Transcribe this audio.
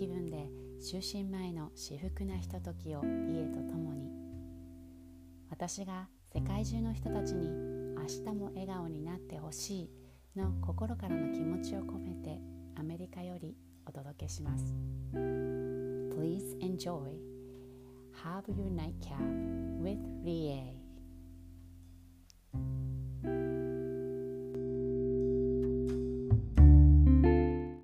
気分で就寝前の至福なひとときを家とともに。私が世界中の人たちに明日も笑顔になってほしいの心からの気持ちを込めてアメリカよりお届けします。Please enjoy. Have your nightcap